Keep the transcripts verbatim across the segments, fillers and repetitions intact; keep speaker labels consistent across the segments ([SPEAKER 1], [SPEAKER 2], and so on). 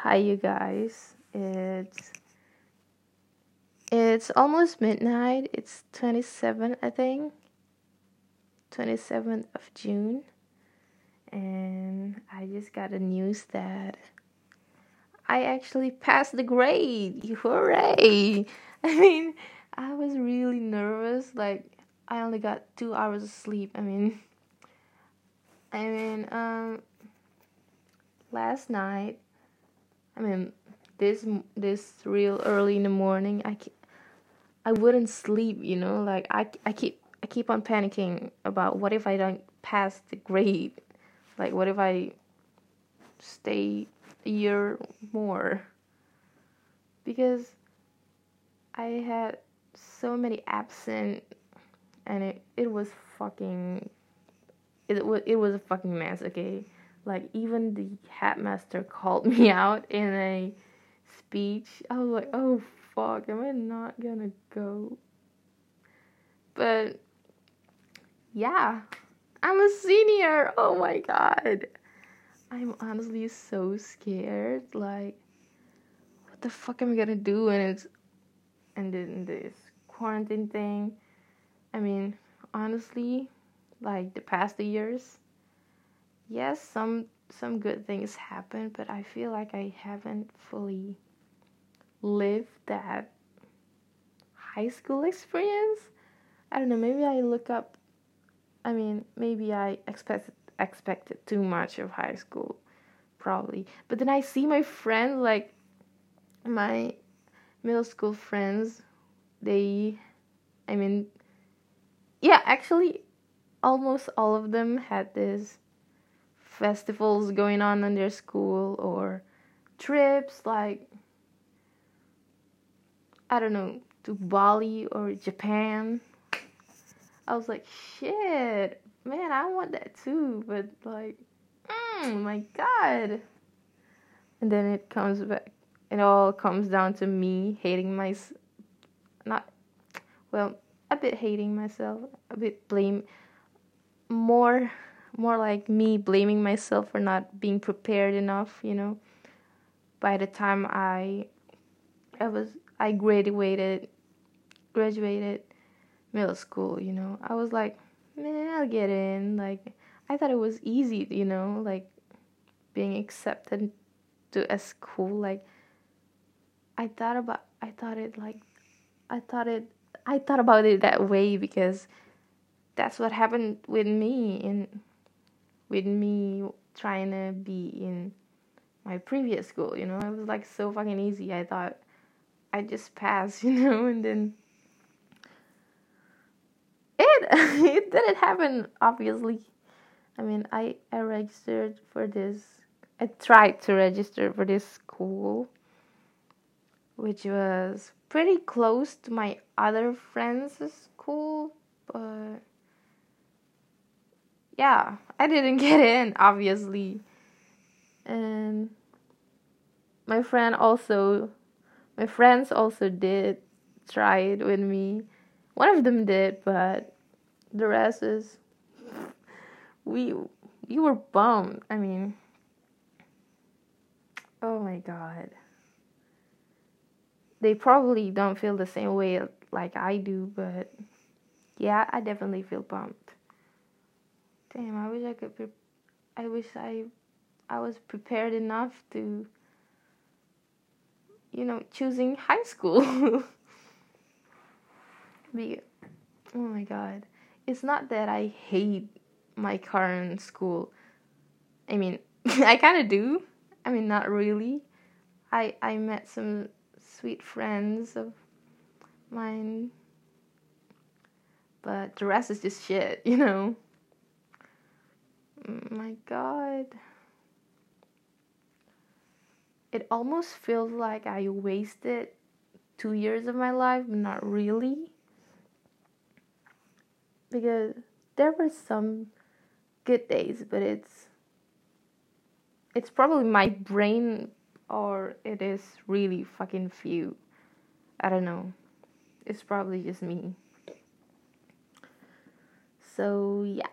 [SPEAKER 1] Hi, you guys. It's it's almost midnight. It's twenty-seventh, I think. twenty-seventh of June. And I just got the news that I actually passed the grade. Hooray! I mean, I was really nervous. Like, I only got two hours of sleep. I mean, I mean, um, last night, I mean, this this real early in the morning, I I wouldn't sleep, you know, like I, I keep I keep on panicking about what if I don't pass the grade, like what if I stay a year more, because I had so many absent, and it, it was fucking it was it was a fucking mess. Okay, like even the headmaster called me out in a speech. I was like, oh fuck, am I not gonna go? But yeah, I'm a senior. Oh my god. I'm honestly so scared. Like, what the fuck am I gonna do? And it's and then this quarantine thing. I mean, honestly, like the past years, yes, some some good things happen, but I feel like I haven't fully lived that high school experience. I don't know. Maybe I look up. I mean, maybe I expected expected too much of high school, probably. But then I see my friends, like my middle school friends, they, I mean, yeah, actually, almost all of them had this festivals going on in their school or trips, like, I don't know, to Bali or Japan. I was like, shit, man, I want that too, but like, mm, my god. And then it comes back, it all comes down to me hating my, not, well, a bit hating myself, a bit blame, more, more like me blaming myself for not being prepared enough, you know. By the time I, I was, I graduated, graduated middle school, you know, I was like, man, I'll get in. Like, I thought it was easy, you know, like being accepted to a school. Like, I thought about, I thought it like, I thought it, I thought about it that way because that's what happened with me in, with me trying to be in my previous school, you know. It was like so fucking easy. I thought I just passed, you know, and then it it didn't happen, obviously. I mean, I I registered for this. I tried to register for this school, which was pretty close to my other friends' school, but yeah, I didn't get in, obviously. And my friend also, my friends also did try it with me. One of them did, but the rest is, we we were bummed. I mean, oh my god. They probably don't feel the same way like I do, but yeah, I definitely feel bummed. Damn, I wish I could. Pre- I wish I, I was prepared enough to, you know, choosing high school. Be, oh my god, it's not that I hate my current school. I mean, I kind of do. I mean, not really. I I met some sweet friends of mine, but the rest is just shit, you know. My god. It almost feels like I wasted two years of my life, but not really. Because there were some good days, but it's it's probably my brain, or it is really fucking few. I don't know. It's probably just me. So yeah.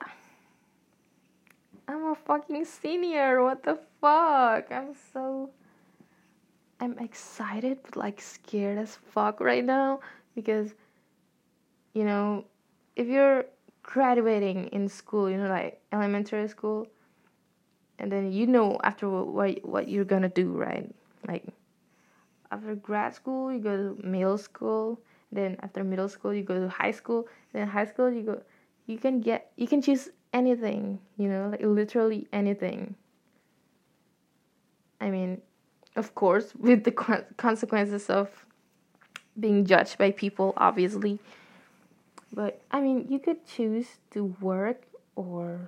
[SPEAKER 1] I'm a fucking senior. What the fuck? I'm so I'm excited but like scared as fuck right now because, you know, if you're graduating in school, you know, like elementary school, and then you know after what what you're gonna do, right? Like after grad school, you go to middle school. Then after middle school, you go to high school. Then high school, you go. You can get. You can choose anything. You know, like literally anything. I mean, of course, with the consequences of being judged by people, obviously. But I mean, you could choose to work or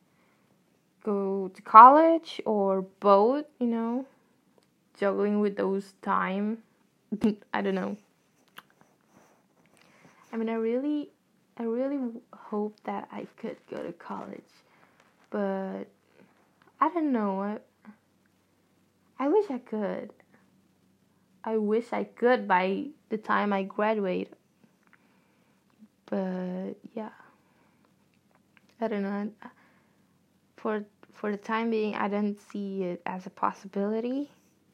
[SPEAKER 1] go to college or both. You know, juggling with those time. I don't know. I mean, I really, I really hope that I could go to college, but I don't know. I, I wish I could. I wish I could by the time I graduate. But yeah, I don't know. For for the time being, I don't see it as a possibility.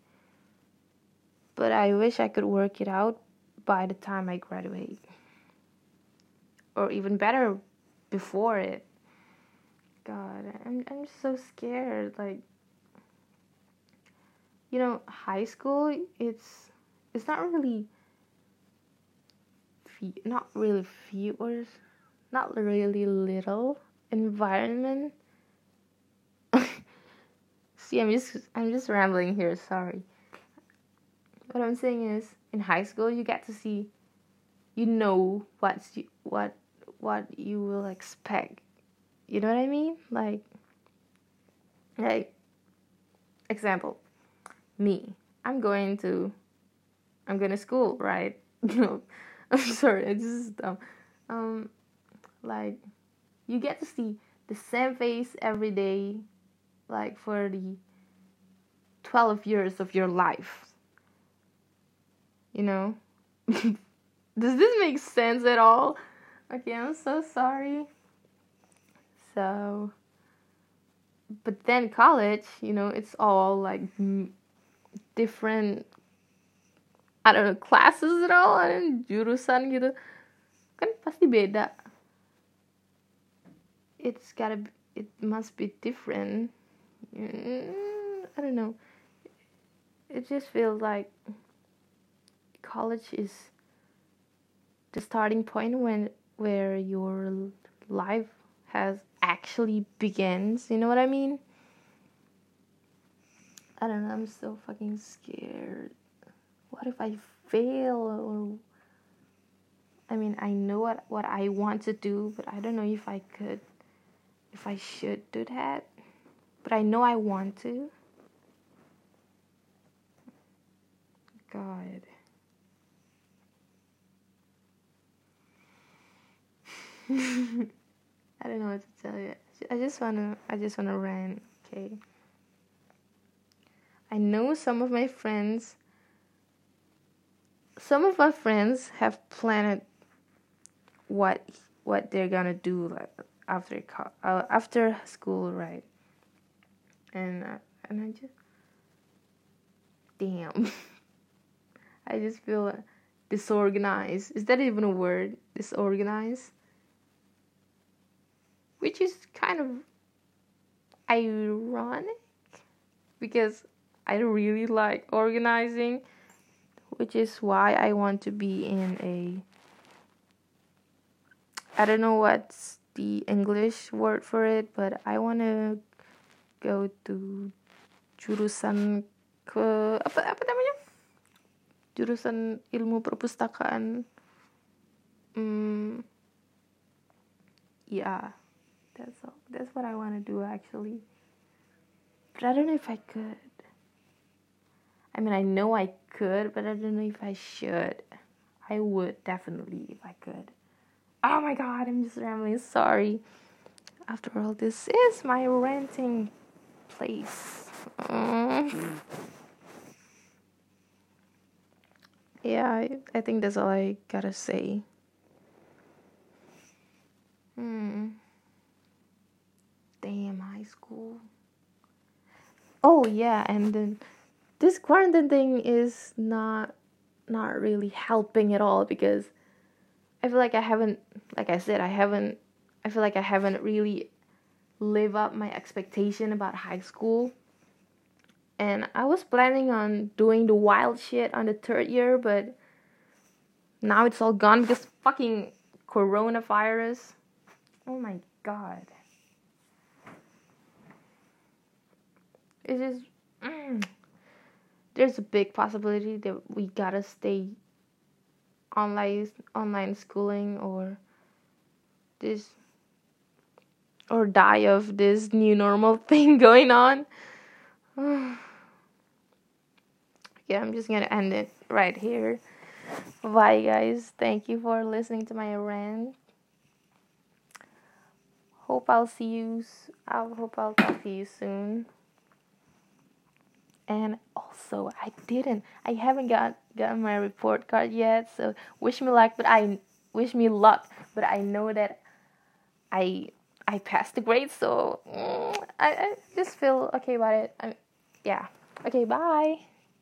[SPEAKER 1] But I wish I could work it out by the time I graduate. Or even better, before it. God, I'm I'm so scared. Like, you know, high school, it's it's not really fe- not really few or not really little environment. See, I'm just I'm just rambling here. Sorry. What I'm saying is, in high school, you get to see, you know what's you, what what you will expect. You know what I mean? Like, like example, me. I'm going to I'm going to school, right? No, I'm sorry. It's just dumb. Um, like, you get to see the same face every day, like for the twelve years of your life. You know? Does this make sense at all? Okay, I'm so sorry. So, but then college, you know, it's all like m- different, I don't know, classes at all, I don't know, jurusan gitu. Kan pasti beda. It's gotta, be, it must be different. Mm, I don't know. It just feels like college is the starting point when where your life has actually begins. You know what I mean? I don't know. I'm so fucking scared. What if I fail? Or I mean, I know what what I want to do, but I don't know if I could, if I should do that. But I know I want to. God. I don't know what to tell you. I just wanna, I just wanna rant. Okay. I know some of my friends. Some of my friends have planned what what they're gonna do like after uh, after school, right? And uh, and I just damn. I just feel disorganized. Is that even a word? Disorganized? Which is kind of ironic because I really like organizing, which is why I want to be in a, I don't know what's the English word for it, but I want to go to jurusan ke apa apa namanya? Jurusan ilmu perpustakaan. Hmm, yeah, that's all. That's what I want to do actually. But I don't know if I could. I mean, I know I could, but I don't know if I should. I would definitely if I could. Oh my god, I'm just rambling. Sorry. After all, this is my renting place. Mm. Yeah, I, I think that's all I gotta say. Hmm. Damn, high school. Oh yeah, and then this quarantine thing is not not really helping at all, because I feel like I haven't, like I said, I haven't, I feel like I haven't really lived up my expectation about high school. And I was planning on doing the wild shit on the third year, but now it's all gone because fucking coronavirus. Oh my god. It's just, mm, there's a big possibility that we gotta stay online online schooling, or this, or die of this new normal thing going on. Yeah, I'm just gonna end it right here. Bye guys, thank you for listening to my rant. Hope I'll see you I hope I'll talk to you soon. And also, I didn't I haven't got gotten my report card yet, so wish me luck, but I wish me luck, but I know that I I passed the grade, so mm, I, I just feel okay about it. I, yeah. Okay, bye.